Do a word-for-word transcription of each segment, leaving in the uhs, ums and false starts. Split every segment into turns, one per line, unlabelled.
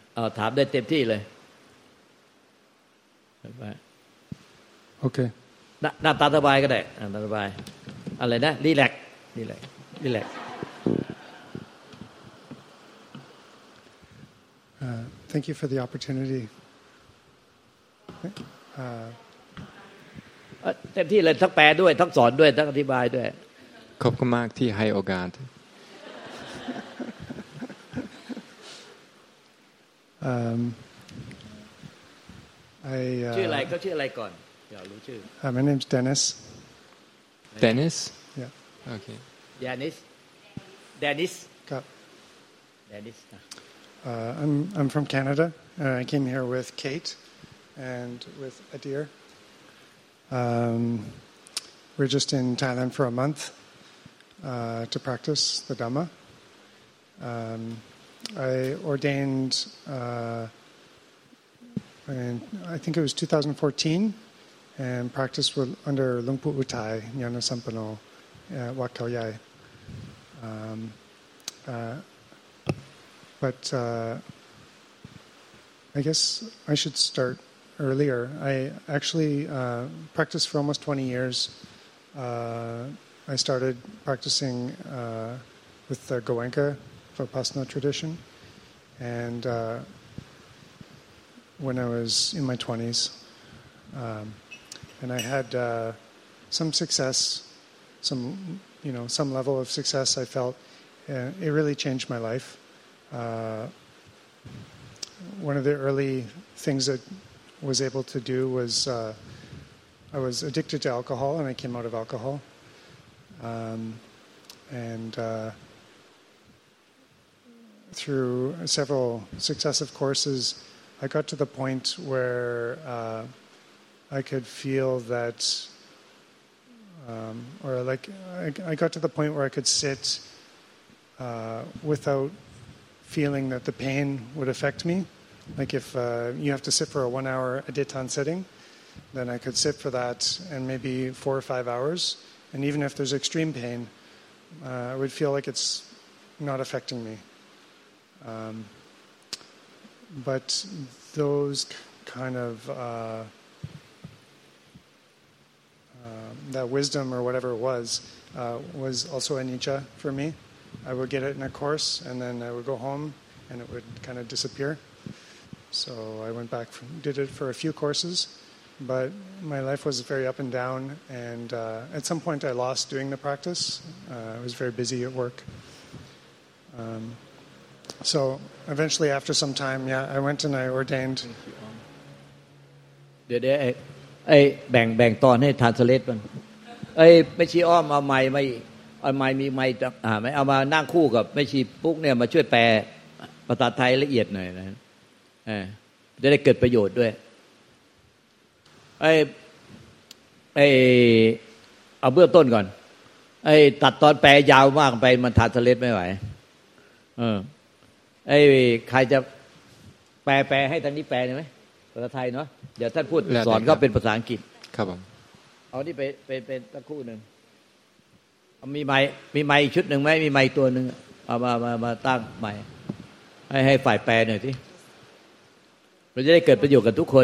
เออถามได้เต็มที่เลย
โอเค
หน้าตาสบายก็ได้หน้าตาสบายอะไรนะรีแลกซ์รีแลกซ์รีแลกซ์
Thank you for the opportunity
เต็มที่เลยทั้งแปลด้วยทั้งสอนด้วยทั้งอธิบายด้วย
ขอบคุณมากที่ให้โอกาส
um, I
ชื่ออะไรเขาชื่ออะไรก่อนอยากรู้ชื่อ
uh, My name's Dennis
Dennis
Yeah
Okay
Dennis Dennis
ครับ
Dennis
uh, I'm I'm from Canada uh, I came here with Kate and with Adir um, we're just in Thailand for a month uh, to practice the Dhamma um, I ordained uh, in, I think it was two thousand fourteen and practiced with, under Luang Pu Uthai Nyana Sampano at Wat Khao Yai. Um, uh, but uh, I guess I should start earlier. I actually uh, practiced for almost twenty years. Uh, I started practicing uh, with the Goenka Vipassana tradition, and uh, when I was in my twenties, um, and I had uh, some success, some you know some level of success. I felt uh, it really changed my life. Uh, one of the early things that I was able to do was uh, I was addicted to alcohol, and I came out of alcohol, um, and. Uh, Through several successive courses, I got to the point where uh, I could feel that, um, or like I, I got to the point where I could sit uh, without feeling that the pain would affect me. Like if uh, you have to sit for a one-hour aditan sitting, then I could sit for that and maybe four or five hours, and even if there's extreme pain, uh, I would feel like it's not affecting me. Um, but those kind of uh, uh, that wisdom or whatever it was uh, was also anicca for me. I would get it in a course, and then I would go home, and it would kind of disappear. So I went back, from, did it for a few courses, but my life was very up and down. And uh, at some point, I lost doing the practice. Uh, I was very busy at work. Um, So eventually, after some time, yeah, I went and I ordained.
เดี๋ยวๆไอ้ไอ้แบ่งแบ่งตอนให้ทรานสเลทมันไอ้ไม่ชี้อ้อมเอาไม้ไม่เอาไม้มีไม้อ่าไม่เอามานั่งคู่กับไม่ชี้ปุ๊กเนี่ยมาช่วยแปลภาษาไทยละเอียดหน่อยนะเออจะได้เกิดประโยชน์ด้วยไอ้ไอ้เอาเบื้องต้นก่อนไอ้ตัดตอนแปลยาวมากไปมันทรานสเลทไม่ไหวเออไอ้ใครจะแปลแปลให้ทางนี้แปลได้ไหมภาษาไทยเนาะเดี๋ยวท่านพูดสอนเขาเป็นภาษาอังกฤษ
ครับผม
เอานี่ไปเป็นเป็นสักครู่นึงมีไม้มีไม้ชุดนึงไหมมีไม้ตัวนึงเอามามามาตั้งไม้ให้ให้ฝ่ายแปลหน่อยสิเราจะได้เกิดประโยชน์กับทุกคน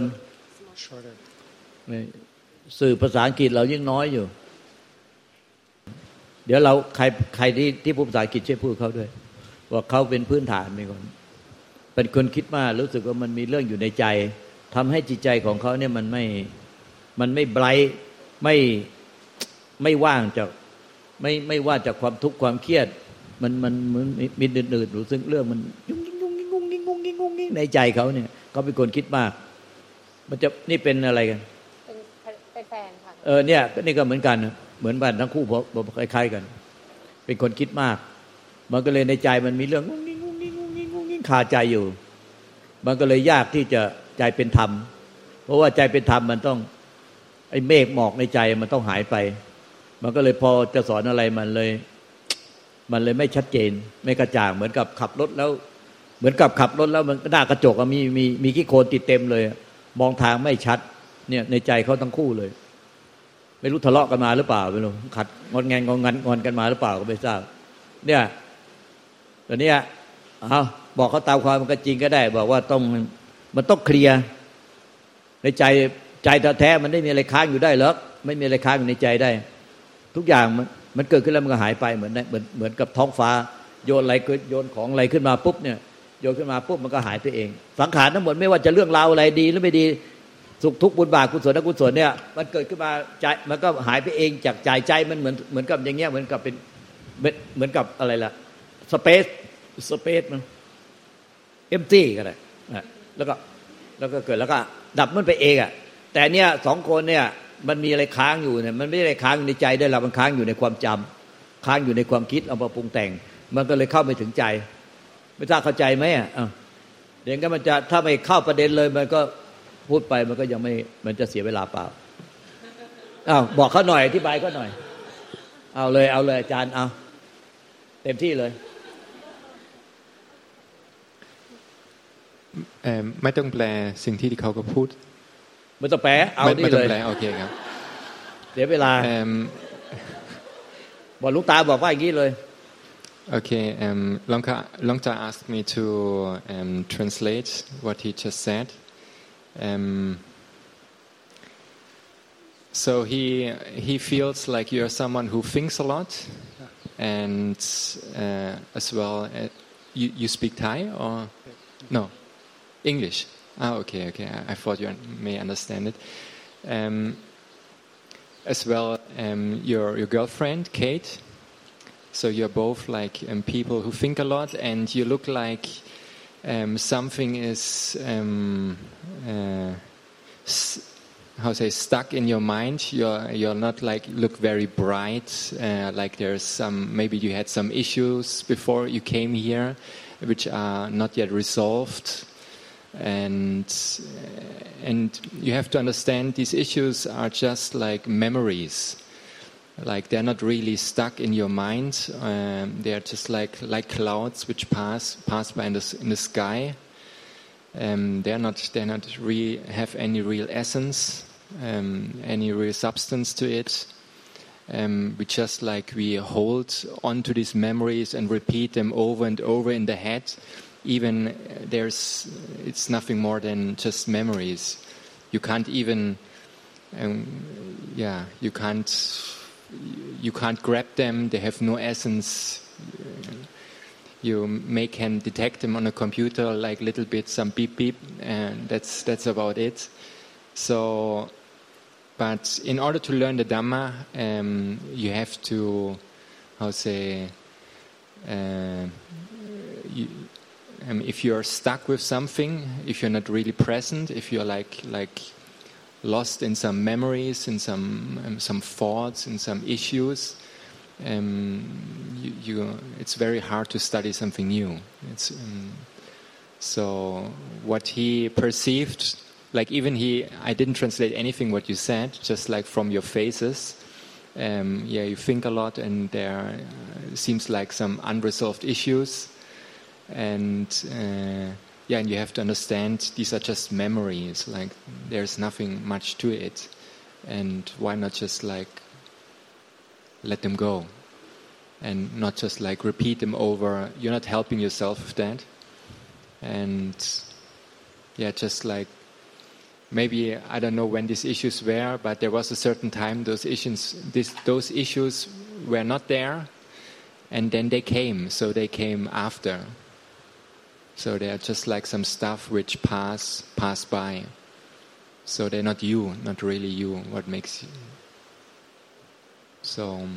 สื่อภาษาอังกฤษเรายิ่งน้อยอยู่เดี๋ยวเราใครใครที่ที่พูดภาษาอังกฤษช่วยพูดเขาด้วยว่าเขาเป็นพื้นฐานเป็นคนเป็นคนคิดมากรู้สึกว่ามันมีเรื่องอยู่ในใจทำให้จิตใจของเขาเนี่ยมันไม่มันไม่ไบรท์ไม่ไม่ว่างจากไม่ไม่ว่าจากความทุกข์ความเครียดมันมันมันมีอื่นๆรู้สึกเรื่องมันยุ่งยิ่งยุ่งยิ่งงุ้งยิ่งงุ้งยิ่งงุ้งยิ่งในใจเขาเนี่ยเขาเป็นคนคิดมากมันจะนี่เป็นอะไรกัน
เป็นเป็นแฟนค่ะ
เออเนี่ยนี่ก็เหมือนกันเหมือนบ้านทั้งคู่คล้ายๆกันเป็นคนคิดมากมันก็เลยในใจมันมีเรื่องงุ้งยิ่งงุ้งยิ่งงุ้งยิ่งงุ้งยิ่งคาใจอยู่มันก็เลยยากที่จะใจเป็นธรรมเพราะว่าใจเป็นธรรมมันต้องไอ้เมฆหมอกในใจมันต้องหายไปมันก็เลยพอจะสอนอะไรมันเลยมันเลยไม่ชัดเจนไม่กระจ่างเหมือนกับขับรถแล้วเหมือนกับขับรถแล้วมันหน้ากระจกมีมีมีขี้โคลนติดเต็มเลยมองทางไม่ชัดเนี่ยในใจเขาทั้งคู่เลยไม่รู้ทะเลาะกันมาหรือเปล่าไม่รู้ขัดงอนแงนงอนงันงอนกันมาหรือเปล่าก็ไม่ทราบเนี่ยตอนนี้เอาบอกเขาตามความมันก็จริงก็ได้บอกว่าต้องมันต้องเคลียร์ในใจใจแท้ๆมันไม่มีอะไรค้างอยู่ได้หรอกไม่มีอะไรค้างอยู่ในใจได้ทุกอย่างมันมันเกิดขึ้นแล้วมันก็หายไปเหมือนเหมือนเหมือนกับท้องฟ้าโยนอะไรโยนของอะไรขึ้นมาปุ๊บเนี่ยโยนขึ้นมาปุ๊บมันก็หายไปเองสังขารทั้งหมดไม่ว่าจะเรื่องราวอะไรดีหรือไม่ดีสุขทุกข์บุญบาปกุศลอกุศลเนี่ยมันเกิดขึ้นมาใจมันก็หายไปเองจากใจใจมันเหมือนเหมือนกับอย่างเงี้ยเหมือนกับเป็นเหมือนกับอะไรล่ะสเปซสเปซมันเอ็มตี้ก็ได้แล้วก็แล้วก็เกิดแล้วก็ดับมันไปเองอ่ะแต่เนี่ยสองคนเนี่ยมันมีอะไรค้างอยู่เนี่ยมันไม่ได้ค้างอยู่ในใจได้หรอกมันค้างอยู่ในความจำค้างอยู่ในความคิดเอามาปรุงแต่งมันก็เลยเข้าไม่ถึงใจไม่ทราบเข้าใจไหมอ่ะเดี๋ยวก็มันจะถ้าไม่เข้าประเด็นเลยมันก็พูดไปมันก็ยังไม่มันจะเสียเวลาเปล่าอ้าวบอกเขาหน่อยอธิบายเขาหน่อยเอาเลยเอาเลยอาจารย์เอาเต็มที่เลย
เอ่อไม่ต้องแปลสิ่งที่เขาก็พูด
ไม่ต้องแปลเอานี่เลยไม่ต้อง
แปลโอเคครับ
เสียเวลาบอกลูกตาบอกว่าอย่างนี้เลย
Okay, um, Longka, Longta asked me to um, translate what he just said. Um, so he he feels like you're someone who thinks a lot, and uh, as well, uh, you you speak Thai or no English? Ah, okay, okay. I, I thought you may understand it. Um, as well, um, your your girlfriend Kate. So you're both like um, people who think a lot, and you look like um, something is um, uh, s- how say stuck in your mind. You're you're not like look very bright. Uh, like there's some maybe you had some issues before you came here, which are not yet resolved, and and you have to understand these issues are just like memories. Like they're not really stuck in your mind. Um, they're just like like clouds which pass pass by in the in the sky. Um, they're not they're not really have any real essence, um, any real substance to it. Um, we just like we hold on to these memories and repeat them over and over in the head. Even there's it's nothing more than just memories. You can't even um, yeah you can't. You can't grab them, they have no essence. You may can detect them on a computer like little bit, some beep beep, and that's that's about it. So, but in order to learn the Dhamma, um, you have to, how say, uh, you, um, if you're stuck with something, if you're not really present, if you're like like lost in some memories, in some um, some thoughts, in some issues, um, you, you, it's very hard to study something new. It's, um, so what he perceived, like even he, I didn't translate anything what you said, just like from your faces. Um, yeah, you think a lot, and there uh, seems like some unresolved issues, and. Uh, Yeah, and you have to understand these are just memories, like there's nothing much to it. And why not just like let them go and not just like repeat them over. You're not helping yourself with that. And yeah, just like maybe, I don't know when these issues were, but there was a certain time those issues, this, those issues were not there, and then they came, so they came after. So they are just like some stuff which pass pass by. So they're not you, not really you. What makes you? So.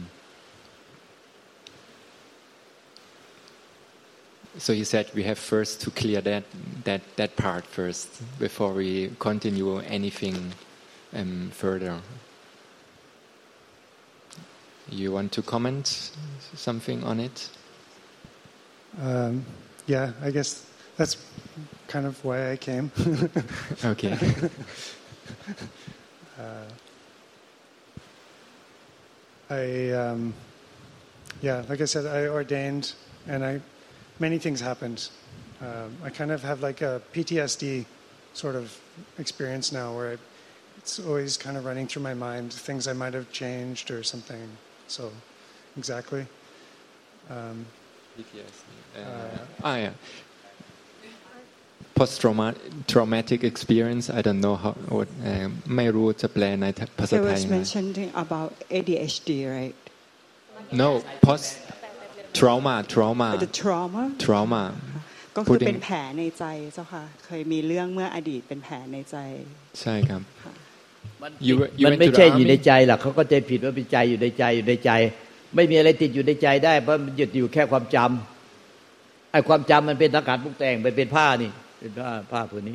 So you said we have first to clear that that that part first before we continue anything um, further. You want to comment something on it?
Um, yeah, I guess. That's kind of why I came.
Okay.
uh, I, um, yeah, like I said, I ordained, and I, many things happened. Um, I kind of have like a P T S D sort of experience now, where I, it's always kind of running through my mind things I might have changed or something. So, exactly. Um,
P T S D. Uh, uh, ah, yeah. post traumatic experience I don't know how ไม่รู้จะแปลในภาษาไทย
He was mentioning about A D H D right
no post trauma trauma
the trauma
trauma
ก็คือเป็นแผลในใจเจ้าค่ะเคยมีเรื่องเมื่ออดีตเป็นแผลในใจ
ใช่ครับ
มันไม่ใช่อยู่ในใจหรอกเขาก็ใจผิดว่าเป็นใจอยู่ในใจอยู่ในใจไม่มีอะไรติดอยู่ในใจได้เพราะมันหยุดอยู่แค่ความจำไอ้ความจำมันเป็นสังขารปรุงแต่งไปเป็นผ้านี่เป็นผ้าผ้าผืนนี้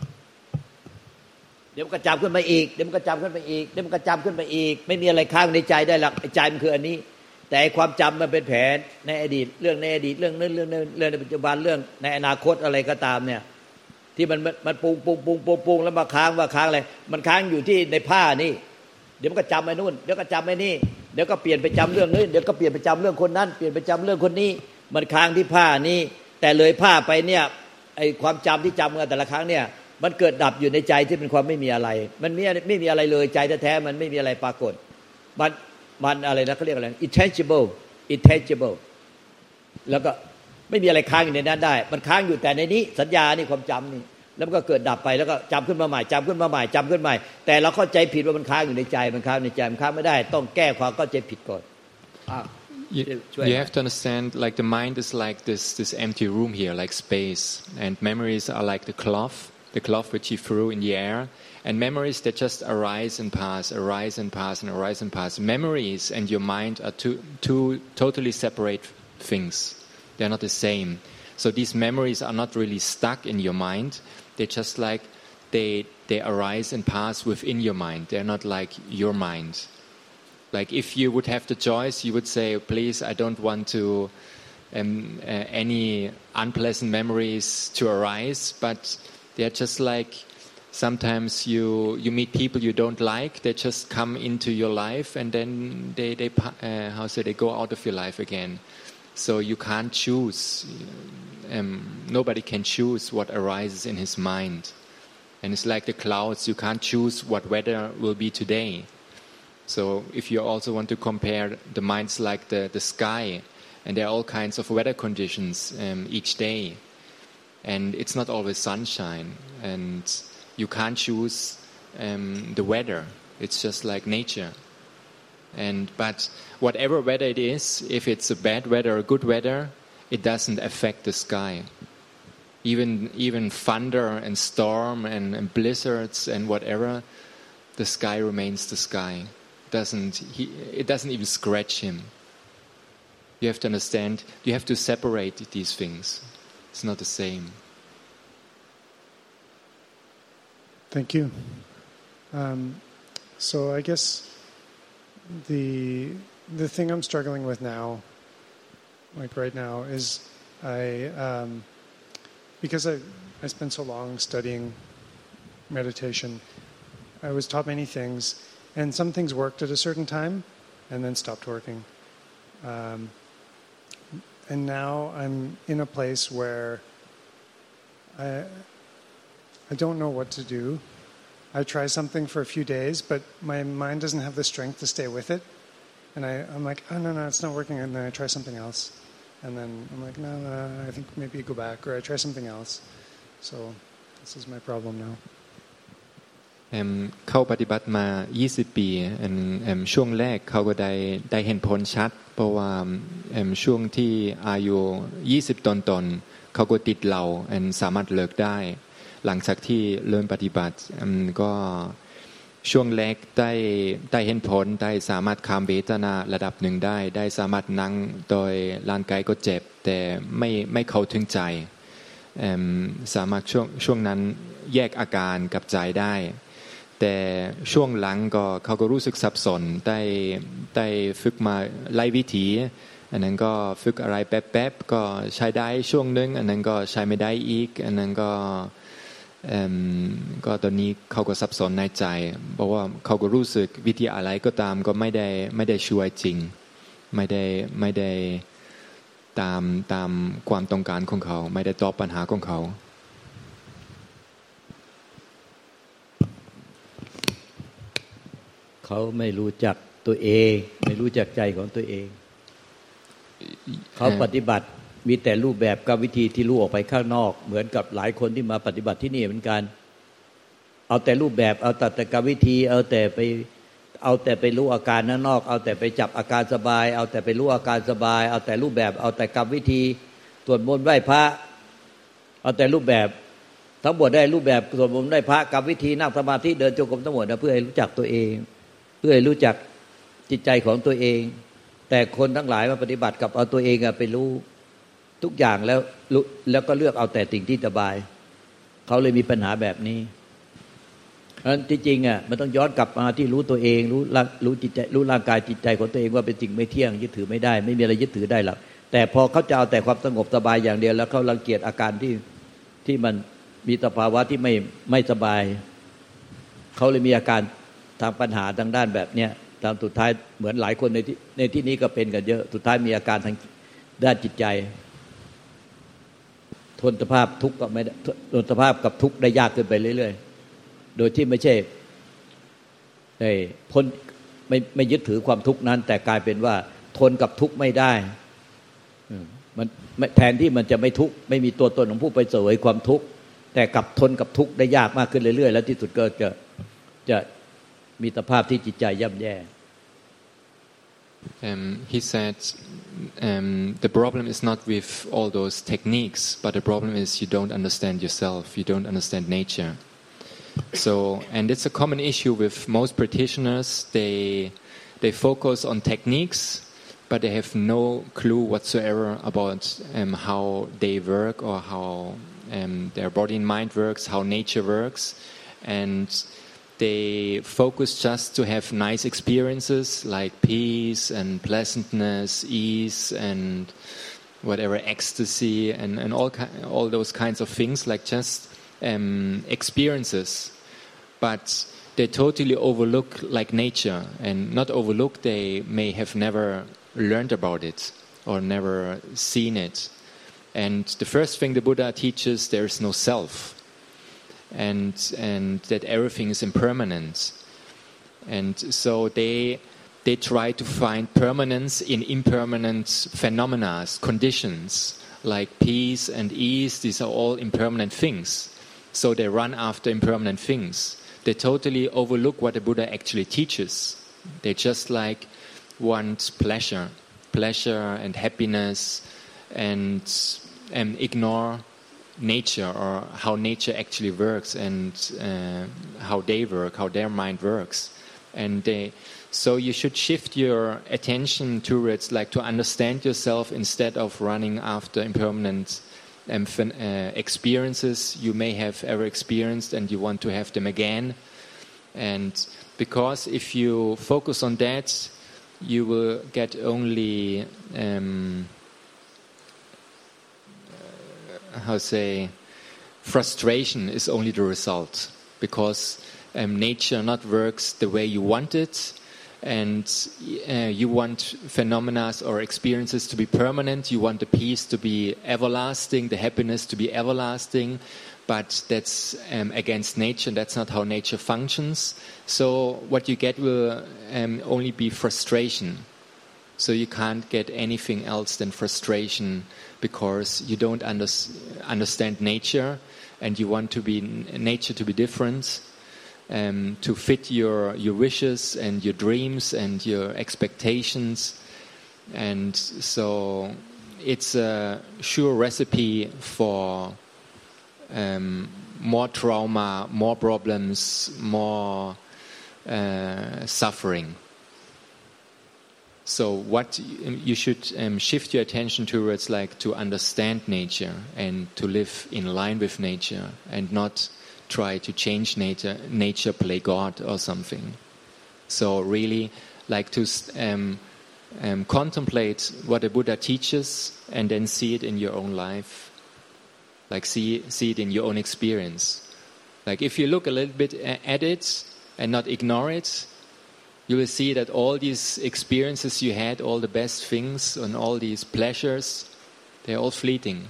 เดี๋ยวมันก็จำขึ้นมาอีกเดี๋ยวมันก็จำขึ้นมาอีกเดี๋ยวมันก็จำขึ้นมาอีกไม่มีอะไรค้างในใจได้หรอกไอ้ใจมันคืออันนี้แต่ความจำมันเป็นแผลในอดีตเรื่องในอดีตเรื่องนั้นเรื่องนั้นเรื่องในปัจจุบันเรื่องในอนาคตอะไรก็ตามเนี่ยที่มันมันปุงปุงปุงปุงปุงแล้วมาค้างว่าค้างอะไรมันค้างอยู่ที่ในผ้านี่เดี๋ยวมันก็จำไอ้นู่นเดี๋ยวก็จำไอ้นี่เดี๋ยวก็เปลี่ยนไปจำเรื่องนี้เดี๋ยวก็เปลี่ยนไปจำเรื่องคนนั้นเปลี่ยนไปจำเรื่องคนนี้มันค้างที่ผ้านี่แต่เลยผ้าไปเนี่ยไอ้ความจำที่จำกันแต่ละครั้งเนี่ยมันเกิดดับอยู่ในใจที่เป็นความไม่มีอะไรมันไม่ไม่มีอะไรเลยใจแท้ๆมันไม่มีอะไรปรากฏมันมันอะไรนะเขาเรียกอะไร intangible intangible แล้วก็ไม่มีอะไรค้างอยู่ในนั้นได้มันค้างอยู่แต่ในนี้สัญญานี่ความจำนี่แล้วมันก็เกิดดับไปแล้วก็จำขึ้นมาใหม่จำขึ้นมาใหม่จำขึ้นใหม่แต่เราเข้าใจผิดว่ามันค้างอยู่ในใจมันค้างในใจมันค้างไม่ได้ต้องแก้ความเข้าใจผิดก่อน
You, you have to understand like the mind is like this this empty room here like space and memories are like the cloth the cloth which you threw in the air and memories that just arise and pass arise and pass and arise and pass memories and your mind are two two totally separate things they're not the same so these memories are not really stuck in your mind they just like they they arise and pass within your mind they're not like your mind like if you would have the choice you would say please I don't want to um, uh, any unpleasant memories to arise but they're just like sometimes you you meet people you don't like they just come into your life and then they they uh, how say they go out of your life again so you can't choose um, nobody can choose what arises in his mind and it's like the clouds you can't choose what weather will be today so if you also want to compare the minds like the the sky and there are all kinds of weather conditions um, each day and it's not always sunshine and you can't choose um, the weather it's just like nature and but whatever weather it is if it's a bad weather or good weather it doesn't affect the sky even even thunder and storm and, and blizzards and whatever the sky remains the sky doesn't he, it doesn't even scratch him you have to understand you have to separate these things it's not the same
thank you um, so I guess the the thing I'm struggling with now like right now is I um, because I I spent so long studying meditation I was taught many things and some things worked at a certain time and then stopped working um, and now I'm in a place where I I don't know what to do I try something for a few days but my mind doesn't have the strength to stay with it and I, I'm like oh no no it's not working and then I try something else and then I'm like no no I think maybe you go back or I try something else so this is my problem now
เข้าปฏิบัติมายี่สิบปีช่วงแรกเขาก็ได้ได้เห็นผลชัดเพราะว่าช่วงที่อายุยี่สิบต้นๆเขาก็ติดเหล้าสามารถเลิกได้หลังจากที่เริ่มปฏิบัติก็ช่วงแรกได้ได้เห็นผลได้สามารถข้ามเวทนาระดับหนึ่งได้ได้สามารถนั่งโดยร่างกายก็เจ็บแต่ไม่ไม่เข้าถึงใจสามารถช่วงช่วงนั้นแยกอาการกับใจได้แต่ช่วงหลังก็เขาก็รู้สึกสับสนได้ได้ฝึกมาหลายวิธีอันนั้นก็ฝึกอะไรแป๊บๆก็ใช้ได้ช่วงนึงอันนั้นก็ใช้ไม่ได้อีกอันนั้นก็ก็ตอนนี้เขาก็สับสนในใจเพราะว่าเขาก็รู้สึกวิธีอะไรก็ตามก็ไม่ได้ไม่ได้ช่วยจริงไม่ได้ไม่ได้ตามตามความต้องการของเขาไม่ได้ตอบปัญหาของเขา
เขาไม่รู้จักตัวเองไม่รู้จักใจของตัวเองเขาปฏิบัติมีแต่รูปแบบกับวิธีที่รู้ออกไปข้างนอกเหมือนกับหลายคนที่มาปฏิบัติที่นี่เหมือนกันเอาแต่รูปแบบเอาแต่กับวิธีเอาแต่ไปเอาแต่ไปรู้อาการข้างนอกเอาแต่ไปจับอาการสบายเอาแต่ไปรู้อาการสบายเอาแต่รูปแบบเอาแต่กับวิธีสวดมนต์ไหว้พระเอาแต่รูปแบบทั้งหมดได้รูปแบบสวดมนต์ได้พระกับวิธีนั่งสมาธิเดินจงกรมทั้งหมดนะเพื่อให้รู้จักตัวเองเพื่อให้รู้จักจิตใจของตัวเองแต่คนทั้งหลายมาปฏิบัติกับเอาตัวเองไปรู้ทุกอย่างแล้วแล้วก็เลือกเอาแต่สิ่งที่สบายเขาเลยมีปัญหาแบบนี้เพราะฉะนั้นที่จริงอ่ะมันต้องย้อนกลับมาที่รู้ตัวเองรู้รู้จิตใจรู้ร่างกายจิตใจของตัวเองว่าเป็นสิ่งไม่เที่ยงยึดถือไม่ได้ไม่มีอะไรยึดถือได้หรอกแต่พอเขาจะเอาแต่ความสงบสบายอย่างเดียวแล้วเขารังเกียจอาการที่ที่มันมีสภาวะที่ไม่ไม่สบายเขาเลยมีอาการทางปัญหาทางด้านแบบเนี้ยตามสุดท้ายเหมือนหลายคนในที่ในที่นี้ก็เป็นกันเยอะสุดท้ายมีอาการทางด้านจิตใจทนสภาพทุกข์ก็ไม่ทนสภาพกับทุกข์ได้ยากขึ้นไปเรื่อยๆโดยที่ไม่ใช่ได้พ้นไม่ไม่ยึดถือความทุกข์นั้นแต่กลายเป็นว่าทนกับทุกข์ไม่ได้มันแทนที่มันจะไม่ทุกข์ไม่มีตัวตนของผู้ไปเสวยความทุกข์แต่กลับทนกับทุกข์ได้ยากมากขึ้นเรื่อยๆแล้วที่สุดก็จะจะมีสภาพที่จิตใจย่ำแย่
Um, he said um, the problem is not with all those techniques, but the problem is you don't understand yourself, you don't understand nature. So, and it's a common issue with most practitioners. They they focus on techniques, but they have no clue whatsoever about um, how they work or how um, their body and mind works, how nature works, and they focus just to have nice experiences like peace and pleasantness, ease and whatever, ecstasy and, and all all those kinds of things, like just um, experiences. But they totally overlook like nature, and not overlook, they may have never learned about it or never seen it. And the first thing the Buddha teaches, there is no self. And and that everything is impermanent, and so they they try to find permanence in impermanent phenomena, conditions like peace and ease. These are all impermanent things. So they run after impermanent things. They totally overlook what the Buddha actually teaches. They just like want pleasure, pleasure and happiness, and and ignore nature or how nature actually works and uh, how they work, how their mind works. And they, so you should shift your attention towards like to understand yourself instead of running after impermanent um, uh, experiences you may have ever experienced and you want to have them again. And because if you focus on that, you will get only um, how say, frustration is only the result, because um, nature not works the way you want it, and uh, you want phenomena or experiences to be permanent, you want the peace to be everlasting, the happiness to be everlasting, but that's um, against nature, that's not how nature functions. So what you get will um, only be frustration. So you can't get anything else than frustration, because you don't under, understand nature, and you want to be nature to be different, um, to fit your your wishes and your dreams and your expectations, and so it's a sure recipe for um, more trauma, more problems, more uh, suffering. So what you should um, shift your attention towards, like to understand nature and to live in line with nature, and not try to change nature, nature play God or something. So really like to um, um, contemplate what the Buddha teaches and then see it in your own life. Like see, see it in your own experience. Like if you look a little bit at it and not ignore it, you will see that all these experiences you had, all the best things and all these pleasures, they're all fleeting.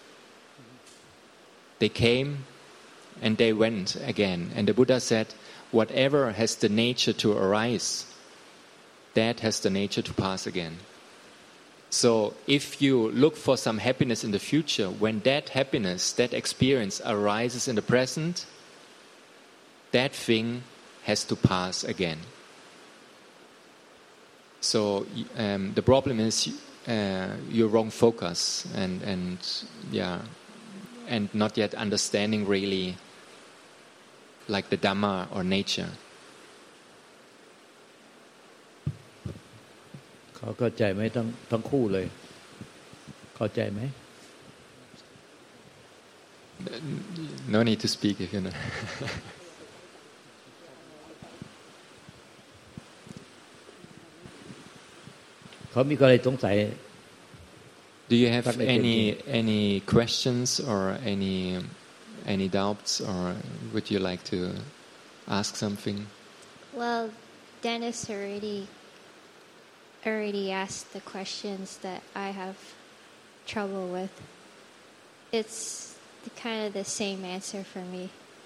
They came and they went again. And the Buddha said, whatever has the nature to arise, that has the nature to pass again. So if you look for some happiness in the future, when that happiness, that experience arises in the present, that thing has to pass again. So um, the problem is uh, your wrong focus and and yeah, and not yet understanding really like the Dhamma or nature.
เขาเข้าใจไหมทั้งทั้งคู่เลยเข้าใจไหม
No need to speak if you know.
เขามีอะไรสงสัย
Do you have any any questions or any any doubts, or would you like to ask something?
Well, Dennis already already asked the questions that I have trouble with. It's the, kind of the same answer for me.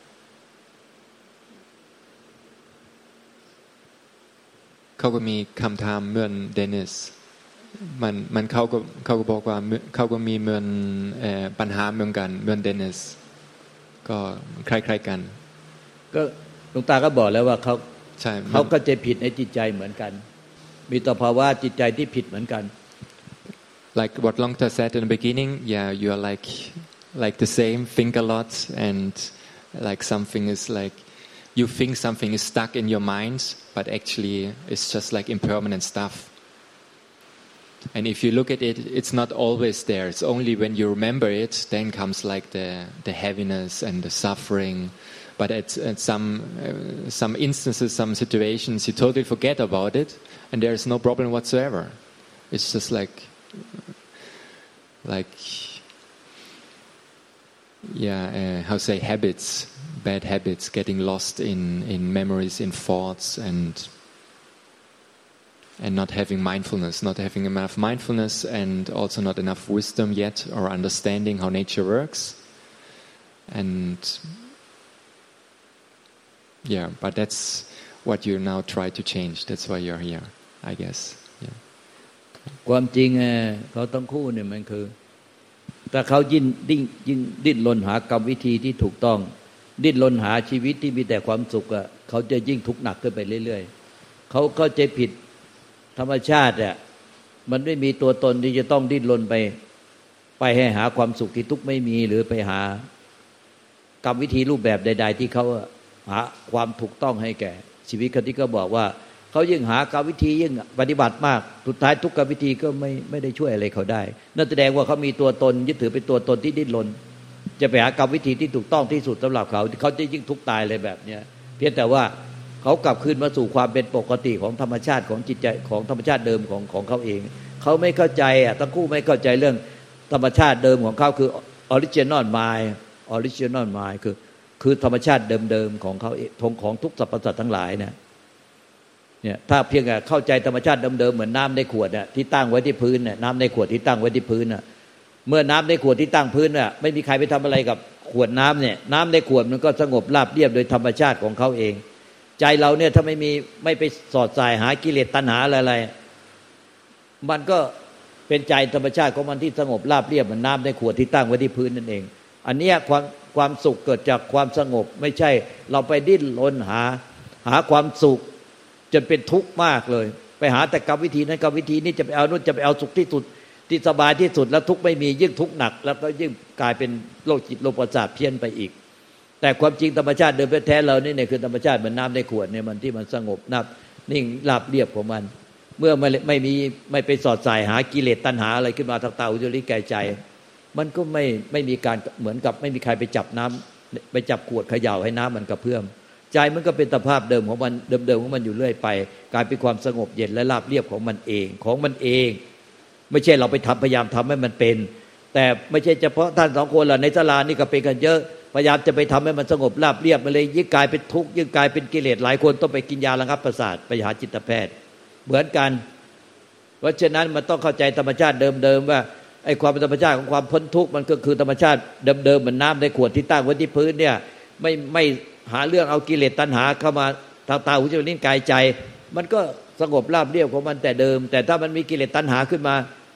เขาก็มีคำถามเหมือนเดนิสมันมันเขาก็เขาก็บอกว่าเขาก็มีเหมือนเอ่อปัญหาเหมือนกันเหมือนเดนิสก็คล้ายๆกัน
ก็หลวงตาก็บอกแล้วว่าเขา
ใช่
เขาก็จะผิดในจิตใจเหมือนกันมีต่อภาวะจิตใจที่ผิดเหมือนกัน
Like what Longta said in the beginning, yeah, you are like like the same, think a lot, and like something is like you think something is stuck in your mind, but actually it's just like impermanent stuff. And if you look at it, it's not always there. It's only when you remember it, then comes like the the heaviness and the suffering. But at, at some uh, some instances, some situations, you totally forget about it, and there is no problem whatsoever. It's just like like yeah, uh, how to say habits, bad habits, getting lost in in memories, in thoughts, and and not having mindfulness, not having enough mindfulness, and also not enough wisdom yet, or understanding how nature works, and yeah, but that's what you now try to change. That's why you're here, I guess. Yeah.
ความจริงเขาทั้งคู่เนี่ยมันคือถ้าเขายิ่งดิ้นยิ่งดิ้นรนหากรรมวิธีที่ถูกต้องดิ้นรนหาชีวิตที่มีแต่ความสุขอ่ะเขาจะยิ่งทุกข์หนักขึ้นไปเรื่อยๆเขาเข้าใจผิดธรรมชาติอ่ะมันไม่มีตัวตนที่จะต้องดิ้นรนไปไปให้หาความสุขที่ทุกข์ไม่มีหรือไปหากรรมวิธีรูปแบบใดๆที่เขาหาความถูกต้องให้แก่ชีวิตเขาที่เขาบอกว่าเขายิ่งหากรรมวิธียิ่งปฏิบัติมากสุดท้ายทุกกรรมวิธีก็ไม่ไม่ได้ช่วยอะไรเขาได้นั่นแสดงว่าเขามีตัวตนยึดถือเป็นตัวตนที่ดิ้นรนจะไปหากรรมวิธีที่ถูกต้องที่สุดสำหรับเขาเขาจะยิ่งทุกข์ตายเลยแบบเนี้ยเพียงแต่ว่าเขากลับคืนมาสู่ความเป็นปกติของธรรมชาติของจิตใจของธรรมชาติเดิมของของเขาเองเขาไม่เข้าใจอ่ะทั้งคู่ไม่เข้าใจเรื่องธรรมชาติเดิมของเขาคือ original mind original mind คือคือธรรมชาติเดิมๆของเขาเองของทุกสรรพสัตว์ทั้งหลายเนี่ยเนี่ยถ้าเพียงแต่เข้าใจธรรมชาติเดิมๆเหมือนน้ำในขวดน่ะที่ตั้งไว้ที่พื้นน่ะน้ำในขวดที่ตั้งไว้ที่พื้นน่ะเมื่อน้ำในขวดที่ตั้งพื้นน่ะไม่มีใครไปทำอะไรกับขวดน้ำเนี่ยน้ำในขวดมันก็สงบราบเรียบโดยธรรมชาติของเขาเองใจเราเนี่ยถ้าไม่มีไม่ไปสอดสายหากิเลสตัณหาอะไรๆมันก็เป็นใจธรรมชาติของมันที่สงบราบเรียบเหมือนน้ำในขวดที่ตั้งไว้ที่พื้นนั่นเองอันนี้ความความสุขเกิดจากความสงบไม่ใช่เราไปดิ้นรนหาหาความสุขจนเป็นทุกข์มากเลยไปหาแต่กรรมวิธีนั้นกรรมวิธีนี้จะไปเอานู่นจะไปเอาสุขที่สุดที่สบายที่สุดแล้วทุกข์ไม่มียิ่งทุกข์หนักแล้วก็ยิ่งกลายเป็นโรคจิตโรคประสาทเพี้ยนไปอีกแต่ความจริงธรรมชาติเดิมแท้ๆเรานี่เนี่ยคือธรรมชาติเหมือนน้ำในขวดเนี่ยมันที่มันสงบนับนิ่งราบเรียบของมันเมื่อไม่ไม่มีไม่ไปสอดสายหากิเลสตัณหาอะไรขึ้นมาทางตาหูจมูกลิ้นกายใจมันก็ไม่ไม่มีการเหมือนกับไม่มีใครไปจับน้ำไปจับขวดเขย่าให้น้ำมันกระเพื่อมใจมันก็เป็นสภาพเดิมของมันเดิมๆของมันอยู่เรื่อยไปกลายเป็นความสงบเย็นและราบเรียบของมันเองของมันเองไม่ใช่เราไปทำพยายามทำให้มันเป็นแต่ไม่ใช่เฉพาะท่านสองคนล่ะในศาลานี่ก็เป็นกันเยอะพยายามจะไปทำให้มันสงบราบเรียบมันเลยยิ่งกลายเป็นทุกข์ยิ่งกลายเป็นกิเลสหลายคนต้องไปกินยาระงับประสาทไปหาจิตแพทย์เหมือนกันเพราะฉะนั้นมันต้องเข้าใจธรรมชาติเดิมๆว่าไอ้ความเป็นธรรมชาติของความพ้นทุกข์มันก็คือธรรมชาติเดิมๆเหมือนน้ำในขวดที่ตั้งไว้ที่พื้นเนี่ยไม่ไม่หาเรื่องเอากิเลสตัณหาเข้ามาทางตาหูจมูกลิ้นกายใจมันก็สงบราบเรียบของมันแต่เดิมแต่ถ้ามันมีกิเลสตัณหาขึ้นมา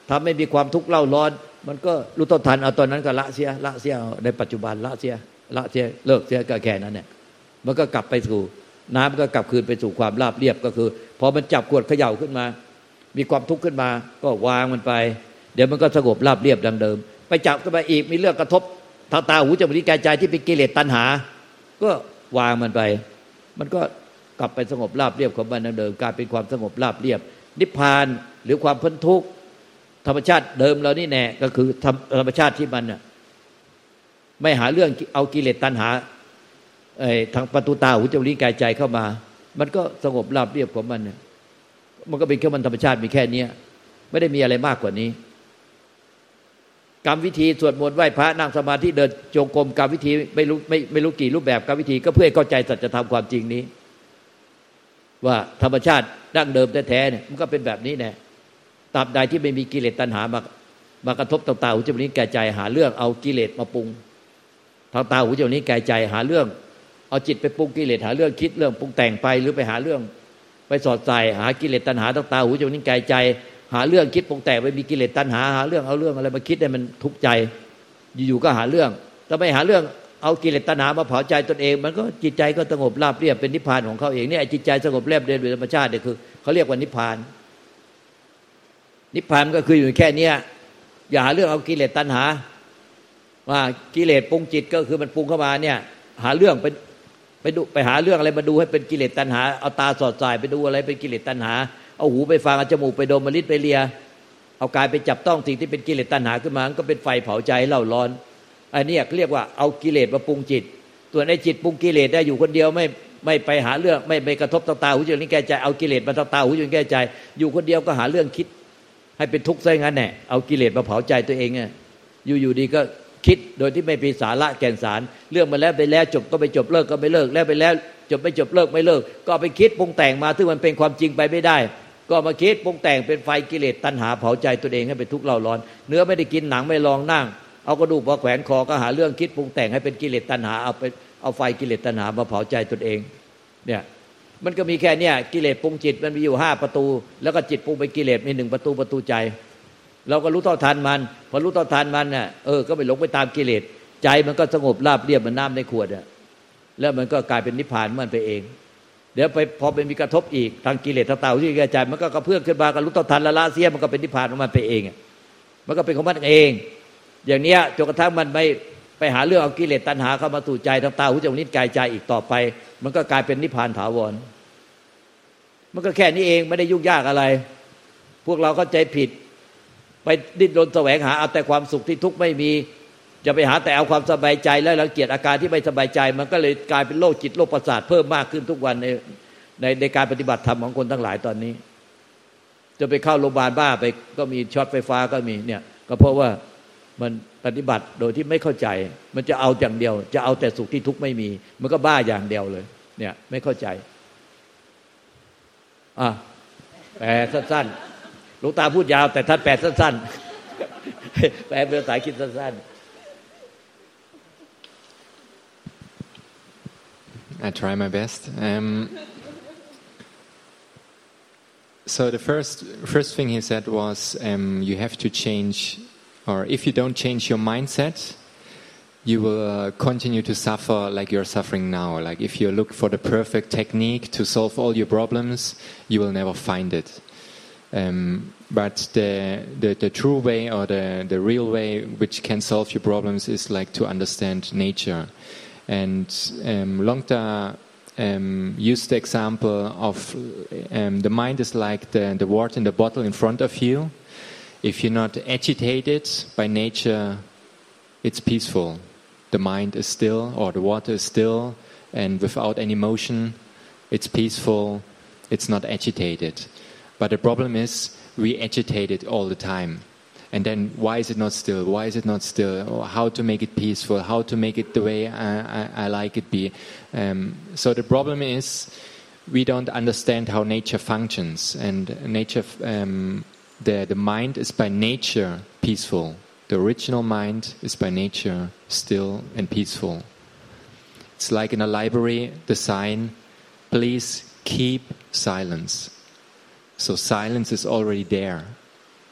ถ้าไม่มีความทุกข์เล่าร้อนมันก็รู้ต้นทันเอาตอนนั้นก็ละเสียละเสียในปัจจุบันละเสียละเสียเลิกเสียก็แค่นั้นเนี่ยมันก็กลับไปสู่น้ำก็กลับคืนไปสู่ความราบเรียบก็คือพอมันจับขวดเขย่าขึ้นมามีความทุกข์ขึ้นมาก็วางมันไปเดี๋ยวมันก็สงบราบเรียบดังเดิมไปจับขึ้นมาอีกมีเรื่องกระทบทางตาหูจมูกลิ้นกายใจที่เป็นกิเลสตัณหาก็วางมันไปมันก็กลับไปสงบราบเรียบของมันดังเดิมกลายเป็นความสงบราบเรียบนิพพานหรือความพ้นทุกข์ธรรมชาติเดิมเรานี่แน่ก็คือธรรมชาติที่มันไม่หาเรื่องเอากิเลสตัณหาทางประตูตาหูจมูกลิ้นกายใจเข้ามามันก็สงบราบเรียบของมันเนี่ยมันก็เป็นแค่มันธรรมชาติมีแค่นี้ไม่ได้มีอะไรมากกว่านี้กรรมวิธีสวดมนต์ไหว้พระนั่งสมาธิเดินจงกรมกรรมวิธีไม่รู้ไม่ไม่รู้กี่รูปแบบกรรมวิธีก็เพื่อให้เข้าใจสัจธรรมความจริงนี้ว่าธรรมชาติดั้งเดิมแท้ๆเนี่ยมันก็เป็นแบบนี้แน่ตราบใดที่ไม่มีกิเลสตัณหามามากระทบต่างๆหูจมูกลิ้นกายใจหาเรื่องเอากิเลสมาปรุงทางตาหูจมูกลิ้นกายใจหาเรื่องเอาจิตไปปรุงกิเลสหาเรื่องคิดเรื่องปรุงแต่งไปหรือไปหาเรื่องไปสอดใส่หากิเลสตัณหาทางตาหูจมูกลิ้นกายใจหาเรื่องคิดปรุงแต่งไปมีกิเลสตัณหาหาเรื่องเอาเรื่องอะไรมาคิดให้มันทุกข์ใจอยู่ๆก็หาเรื่องถ้าไม่หาเรื่องเอากิเลสตัณหามาเผาใจตนเองมันก็จิตใจก็สงบราบเรียบเป็นนิพพานของเขาเองเนี่ยจิตใจสงบเรียบเรียบโดยธรรมชาติเนี่ยคือเขาเรียกว่านิพพานนิพพานก็คืออยู่แค่นี้อย่าหาเรื่องเอากิเลสตัณหาว่ากิเลสปรุงจิตก็คือมันปรุงเข้ามาเนี่ยหาเรื่องไปไปดูไปหาเรื่องอะไรมาดูให้เป็นกิเลสตัณหาเอาตาสอดสายไปดูอะไรเป็นกิเลสตัณหาเอาหูไปฟังเอาจมูกไปดมเอาลิ้นไปเลียเอากายไปจับต้องสิ่งที่เป็นกิเลสตัณหาขึ้นมาก็เป็นไฟเผาใจเล่าร้อนอันนี้เรียกว่าเอากิเลสมาปรุงจิตตัวในจิตปรุงกิเลสได้อยู่คนเดียวไม่ไม่ไปหาเรื่องไม่ไปกระทบตาหูจมูกลิ้นกายใจเอากิเลสมาตาหูจมูกลิ้นกายใจอยู่คนเดียวก็หาเรื่องคิดให้เป็นทุกข์ซะงั้นแหละเอากิเลสมาเผาใจตัวเองเนี่ยอยู่ๆดีก็คิดโดยที่ไม่มีสาระแก่นสารเรื่องมาแล้วไปแล้วจบก็ไปจบเลิกก็ไม่เลิกแล้วไปแล้วจบไม่จบเลิกไม่เลิกก็ไปคิดปรุงแต่งมาซึ่งมันเป็นความจริงไปไม่ได้ก็มาคิดปรุงแต่งเป็นไฟกิเลสตัณหาเผาใจตัวเองให้เป็นทุกข์เล่าร้อนเนื้อไม่ได้กินหนังไม่ลองนั่งเอากระดูกมาแขวนคอก็หาเรื่องคิดปรุงแต่งให้เป็นกิเลสตัณหาเอาไปเอาไฟกิเลสตัณหามาเผาใจตัวเองเนี่ยมันก็มีแค่เนี้ยกิเลสปรุงจิตมันมีอยู่ห้าประตูแล้วก็จิตปรุงไปกิเลสมีหนึ่งประตูประตูใจเราก็รู้เท่าทันมันพอรู้เท่าทันมันน่ะเออก็ไม่หลงไปตามกิเลสใจมันก็สงบราบเรียบเหมือนน้ำในขวดอ่ะแล้วมันก็กลายเป็นนิพพานมันไปเองเดี๋ยวไปพอเป็นมีกระทบอีกทางกิเลสทางตาหูจมูกลิ้นกายใจมันก็กระเพื่อมขึ้นมาก็รู้เท่าทันละละเสียมันก็เป็นนิพพานของมันไปเองอ่ะมันก็เป็นของมันเองอย่างเนี้ยจนกระทั่งมันไม่ไปหาเรื่องเอากิเลสตัณหาเข้ามาสู่ใจทางตาหูจมูกลิ้นกายใจอีกต่อไปมันก็กลายเป็นนิพพานถาวรมันก็แค่นี้เองไม่ได้ยุ่งยากอะไรพวกเราเข้าใจผิดไปดิ้นรนแสวงหาเอาแต่ความสุขที่ทุกข์ไม่มีจะไปหาแต่เอาความสบายใจแล้วรังเกียจอาการที่ไม่สบายใจมันก็เลยกลายเป็นโรคจิตโรคประสาทเพิ่มมากขึ้นทุกวันในในในการปฏิบัติธรรมของคนทั้งหลายตอนนี้จะไปเข้าโรงพยาบาลบ้าไปก็มีช็อตไฟฟ้าก็มีเนี่ยก็เพราะว่ามันปฏิบัติโดยที่ไม่เข้าใจมันจะเอาอย่างเดียวจะเอาแต่สุขที่ทุกข์ไม่มีมันก็บ้าอย่างเดียวเลยเนี่ยไม่เข้าใจอ่ะแปลสั้นๆหลวงตาพูดยาวแต่ท่านแปลสั้นๆแปลเป็นภาษาอังกฤษสั้นๆ
I try my best. Um, so the first first thing he said was um, you have to change, or if you don't change your mindset, you will uh, continue to suffer like you're suffering now. Like if you look for the perfect technique to solve all your problems, you will never find it. Um, but the, the the true way or the the real way which can solve your problems is like to understand nature. And um, Longta um, used the example of um, the mind is like the, the water in the bottle in front of you. If you're not agitated by nature, it's peaceful. The mind is still, or the water is still, and without any motion, it's peaceful, it's not agitated. But the problem is, we agitate it all the time. And then, why is it not still? Why is it not still? Or how to make it peaceful? How to make it the way I, I, I like it be? Um, so the problem is, we don't understand how nature functions. And nature, um, the the mind is by nature peaceful. The original mind is by nature still and peaceful. It's like in a library, the sign, please keep silence. So silence is already there.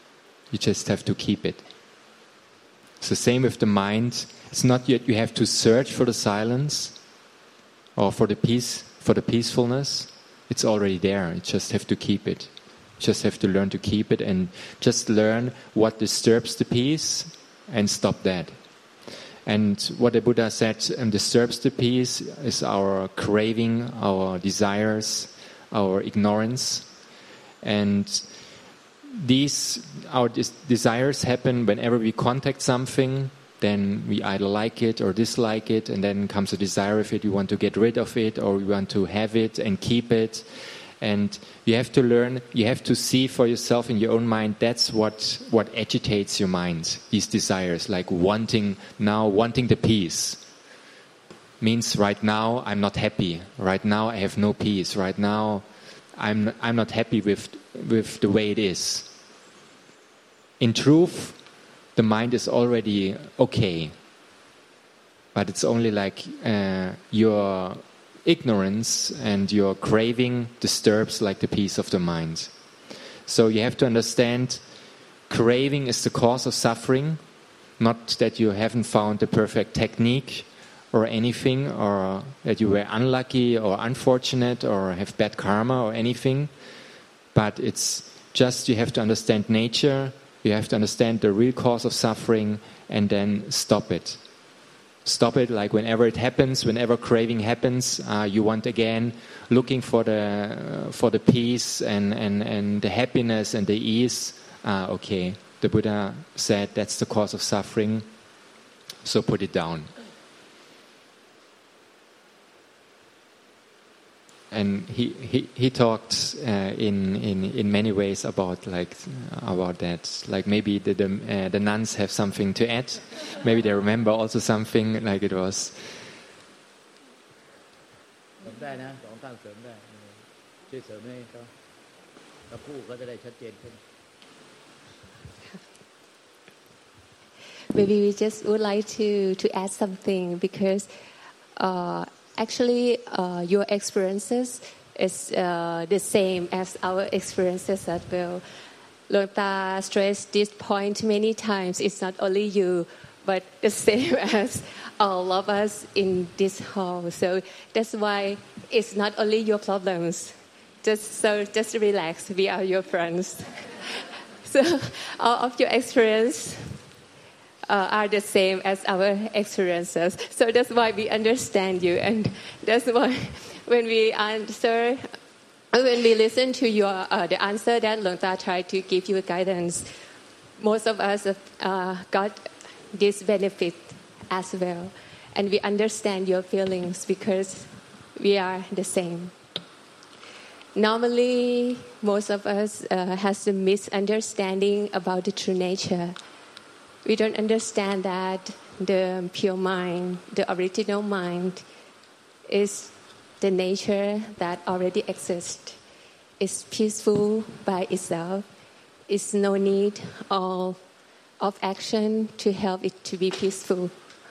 You just have to keep it. It's the same with the mind. It's not yet you have to search for the silence or for the peace, for the peacefulness. It's already there. You just have to keep it. You just have to learn to keep it and just learn what disturbs the peace and stop that. And what the Buddha said um, disturbs the peace is our craving, our desires, our ignorance. And these, our des- desires happen whenever we contact something, then we either like it or dislike it, and then comes a desire of it, we want to get rid of it, or we want to have it and keep it. And you have to learn, you have to see for yourself in your own mind, that's what, what agitates your mind, these desires, like wanting now, wanting the peace. Means right now I'm not happy, right now I have no peace, right now I'm, I'm not happy with, with the way it is. In truth, the mind is already okay, but it's only like uh, your ignorance and your craving disturbs like the peace of the mind. So you have to understand, craving is the cause of suffering, not that you haven't found the perfect technique or anything, or that you were unlucky or unfortunate or have bad karma or anything, but it's just you have to understand nature, you have to understand the real cause of suffering, and then stop it. Stop it, like whenever it happens, whenever craving happens, uh, you want again looking for the uh, for the peace and, and, and the happiness and the ease. Uh, okay, the Buddha said that's the cause of suffering, so put it down. And he, he, he talked uh, in, in in many ways about like about that. Like maybe the the, uh, the nuns have something to add. Maybe they remember also something like it was.
ได้นะสองข้างเสริมได้ช่วยเสริมให้เขาแล้วคู่เขาจะได้ชัดเจนขึ้น
Maybe we just would like to to add something because. Uh, Actually, uh, your experiences is uh, the same as our experiences as well. Luang Ta stressed this point many times. It's not only you, but the same as all of us in this hall. So that's why it's not only your problems. Just so, just relax. We are your friends. So all of your experience. Uh, are the same as our experiences. So that's why we understand you, and that's why when we answer, when we listen to your uh, the answer that Luang Ta tried to give you guidance, most of us uh, got this benefit as well, and we understand your feelings because we are the same. Normally, most of us uh, has a misunderstanding about the true nature. We don't understand that the pure mind, the original mind, is the nature that already exists. It's peaceful by itself. It's no need of, of action to help it to be peaceful.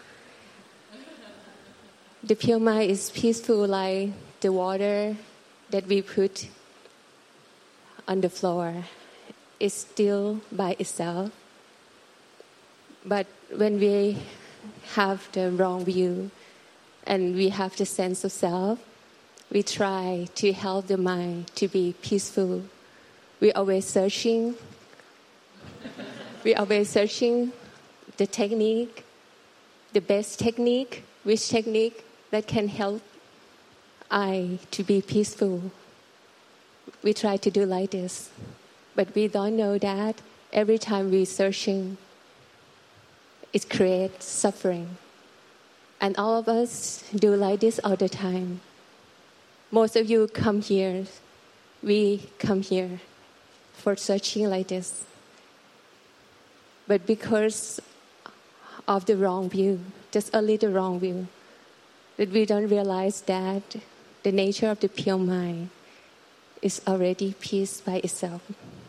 The pure mind is peaceful like the water that we put on the floor. It's still by itself. But when we have the wrong view and we have the sense of self, we try to help the mind to be peaceful. We're always searching. We're always searching the technique, the best technique, which technique that can help I to be peaceful. We try to do like this, but we don't know that every time we're searching, it creates suffering. And all of us do like this all the time. Most of you come here, we come here for searching like this. But because of the wrong view, just only the wrong view, that we don't realize that the nature of the pure mind is already peace by itself.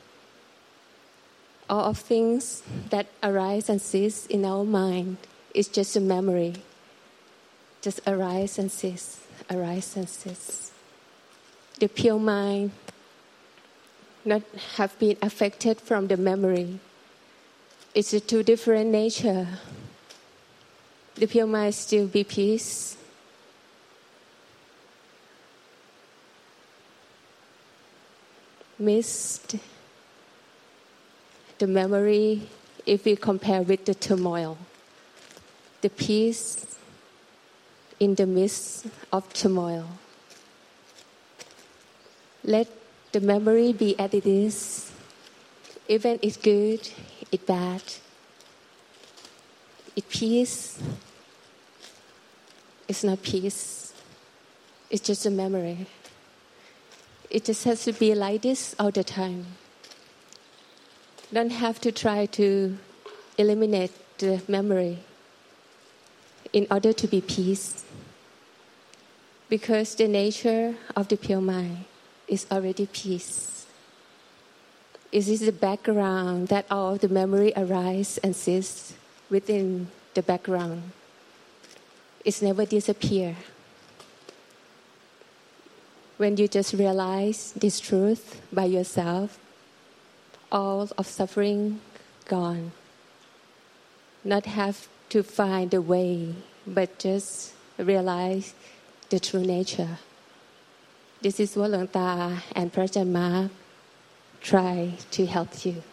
All of things that arise and cease in our mind is just a memory. Just arise and cease, arise and cease. The pure mind not have been affected from the memory. it's a two different nature. The pure mind still be peace. Missed the memory if we compare with the turmoil. The peace in the midst of turmoil. Let the memory be as it is. Even it's good, it's bad. It's peace. It's not peace. It's just a memory. It just has to be like this all the time. Don't have to try to eliminate the memory in order to be peace. Because the nature of the pure mind is already peace. It is the background that all the memory arise and cease within the background. It's never disappear. When you just realize this truth by yourself, all of suffering gone. Not have to find a way, but just realize the true nature. This is what Luang Ta and Prajan Mark try to help you.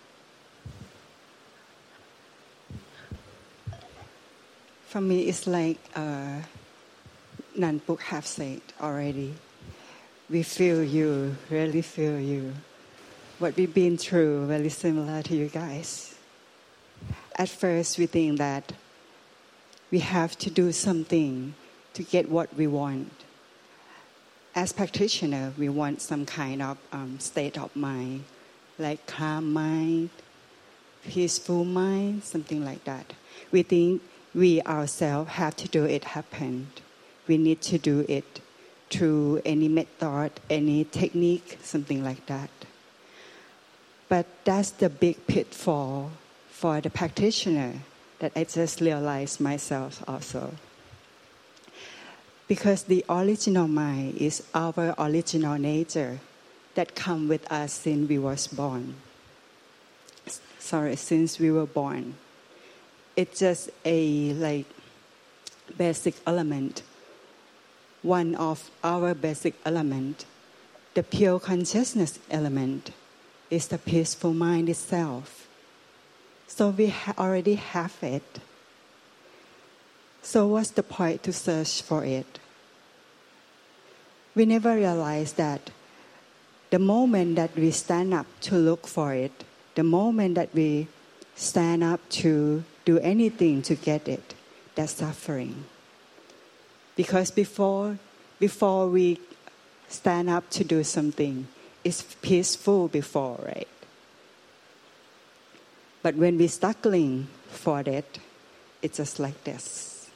For me, it's like uh, Nan Puk have said already. We feel you, really feel you. What we've been through, very similar to you guys. At first, we think that we have to do something to get what we want. As practitioner, we want some kind of um, state of mind, like calm mind, peaceful mind, something like that. We think we ourselves have to do it happen. We need to do it through any method, any technique, something like that. But that's the big pitfall for the practitioner that I just realized myself also. Because the original mind is our original nature that come with us since we was born. Sorry, since we were born. It's just a like basic element. One of our basic element, the pure consciousness element, is the peaceful mind itself. So we ha- already have it. So what's the point to search for it? We never realize that the moment that we stand up to look for it, the moment that we stand up to do anything to get it, that's suffering. Because before, before we stand up to do something, it's peaceful before, right? But when we're struggling for it, it's just like this.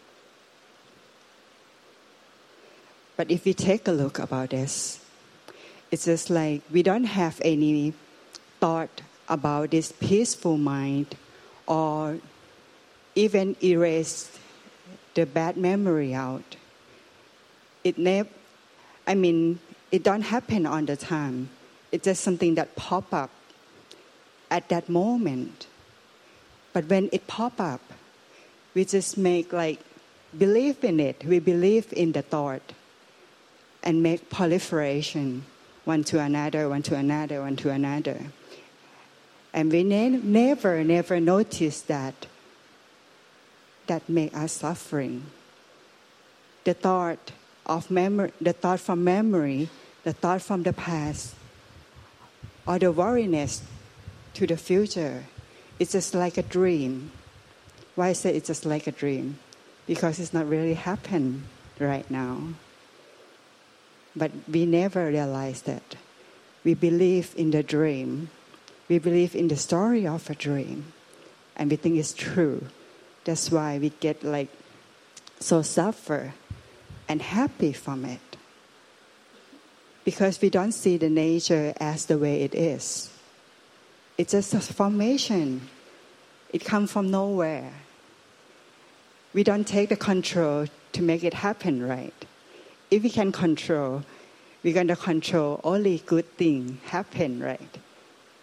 But if we take a look about this, it's just like we don't have any thought about this peaceful mind or even erase the bad memory out. It never, I mean, it don't happen all the time. It's just something that pop up at that moment. But when it pop up, we just make like believe in it. We believe in the thought and make proliferation one to another, one to another, one to another. And we ne- never, never notice that that make us suffering. The thought of memory, the thought from memory, the thought from the past, or the worriness to the future, it's just like a dream. Why I say it's just like a dream? Because it's not really happened right now. But we never realize that. We believe in the dream. We believe in the story of a dream. And we think it's true. That's why we get like so suffer and happy from it. Because we don't see the nature as the way it is. It's just a formation. It comes from nowhere. We don't take the control to make it happen, right? If we can control, we're going to control only good things happen, right?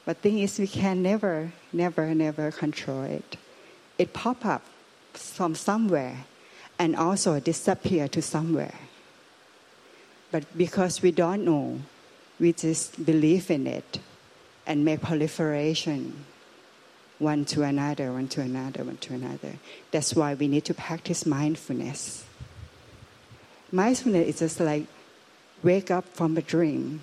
But thing is, we can never, never, never control it. It pop up from somewhere and also disappear to somewhere. But because we don't know, we just believe in it and make proliferation one to another, one to another, one to another. That's why we need to practice mindfulness. Mindfulness is just like wake up from a dream.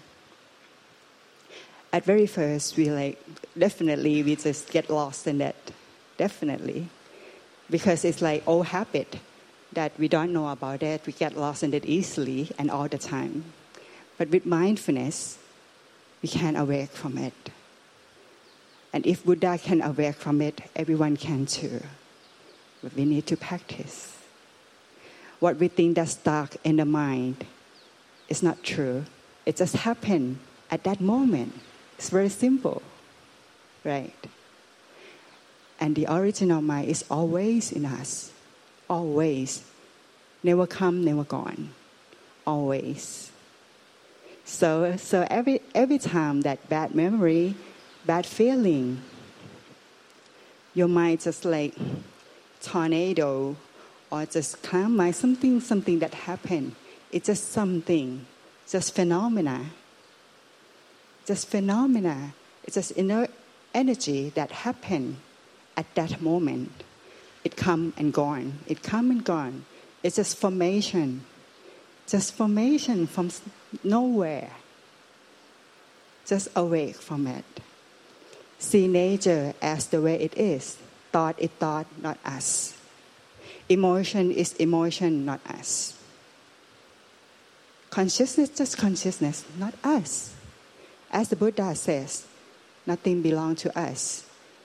At very first, we like, definitely we just get lost in that. Definitely. Because it's like old habit that we don't know about it. We get lost in it easily and all the time. But with mindfulness, we can awake from it. And if Buddha can awake from it, everyone can too. But we need to practice. What we think that's dark in the mind is not true. It just happened at that moment. It's very simple, right? And the original mind is always in us. Always. Never come, never gone. Always. So, so every every time that bad memory, bad feeling, your mind just like tornado or just calm mind, something, something that happened. It's just something, just phenomena. Just phenomena. It's just inner energy that happened at that moment. It come and gone. It come and gone. It's just formation. Just formation from nowhere. Just awake from it. See nature as the way it is. Thought is thought, not us. Emotion is emotion, not us. Consciousness, just consciousness, not us. As the Buddha says, nothing belongs to us.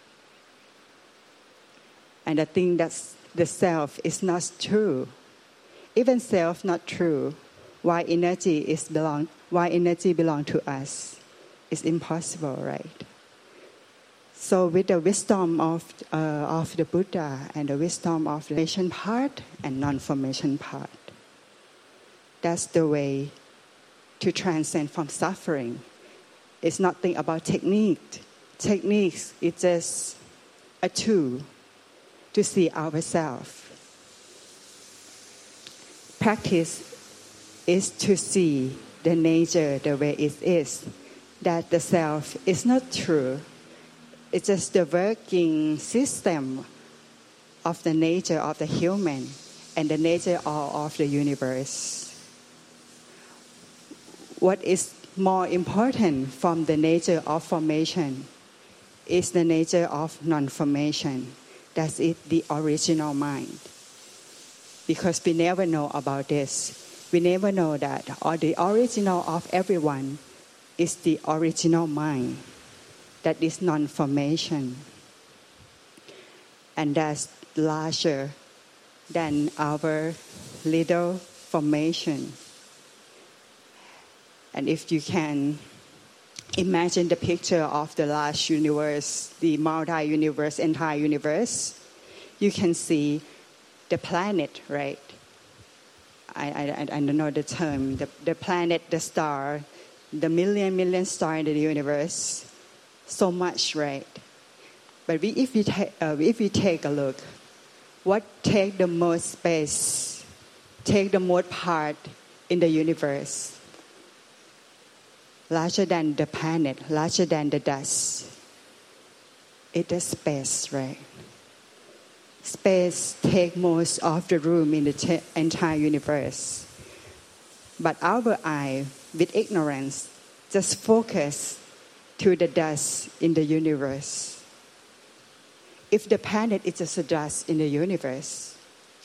And the thing that's the self is not true. Even self not true. Why energy is belong? Why energy belong to us? It's impossible, right? So with the wisdom of uh, of the Buddha and the wisdom of the formation part and non-formation part, that's the way to transcend from suffering. It's nothing about technique. Techniques is just a tool to see ourselves. Practice is to see the nature the way it is, that the self is not true. It's just the working system of the nature of the human and the nature of, of the universe. What is more important from the nature of formation is the nature of non-formation. That's it, the original mind. Because we never know about this. We never know that or the original of everyone is the original mind. That is non-formation. And that's larger than our little formation. And if you can imagine the picture of the large universe, the multi-universe, entire universe, you can see the planet, right? I, I, I don't know the term. The, the planet, the star, the million, million stars in the universe, so much, right? But we, if, we ta- uh, if we take a look, what take the most space, take the most part in the universe? Larger than the planet, larger than the dust. It is space, right? Space takes most of the room in the t- entire universe. But our eye, with ignorance, just focus to the dust in the universe. If the planet is just a dust in the universe,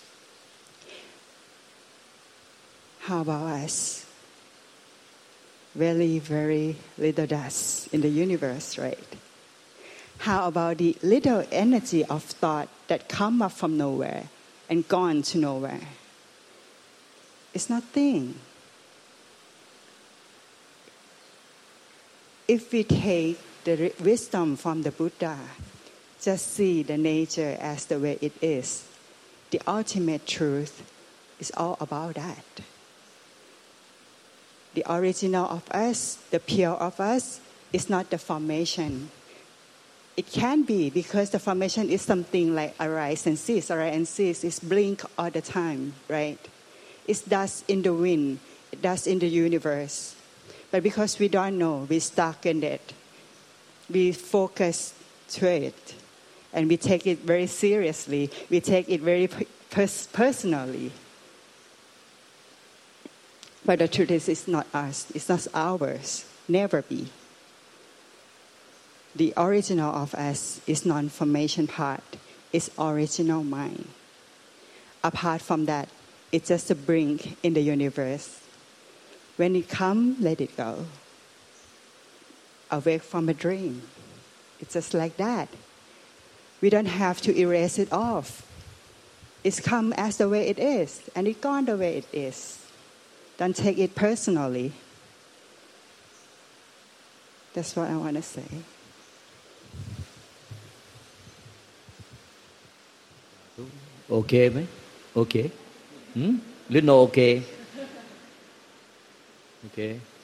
how about us? Very, very little dust in the universe, right? How about the little energy of thought that come up from nowhere and gone to nowhere? It's nothing. If we take the wisdom from the Buddha, just see the nature as the way it is, the ultimate truth is all about that. The original of us, the pure of us, is not the formation. It can be because the formation is something like arise and cease, arise and cease. It's blink all the time, right? It's dust in the wind, dust in the universe. But because we don't know, we stuck in it. We focus to it, and we take it very seriously. We take it very pers- personally. But the truth is, it's not us. It's not ours. Never be. The original of us is non-formation part. It's original mind. Apart from that, it's just a blink in the universe. When it comes, let it go. Awake from a dream. It's just like that. We don't have to erase it off. It's come as the way it is, and it's gone the way it is. Don't take it personally. That's what I want to say.
โอเคไหมโอเคหืมหรือ no โอเคโอเค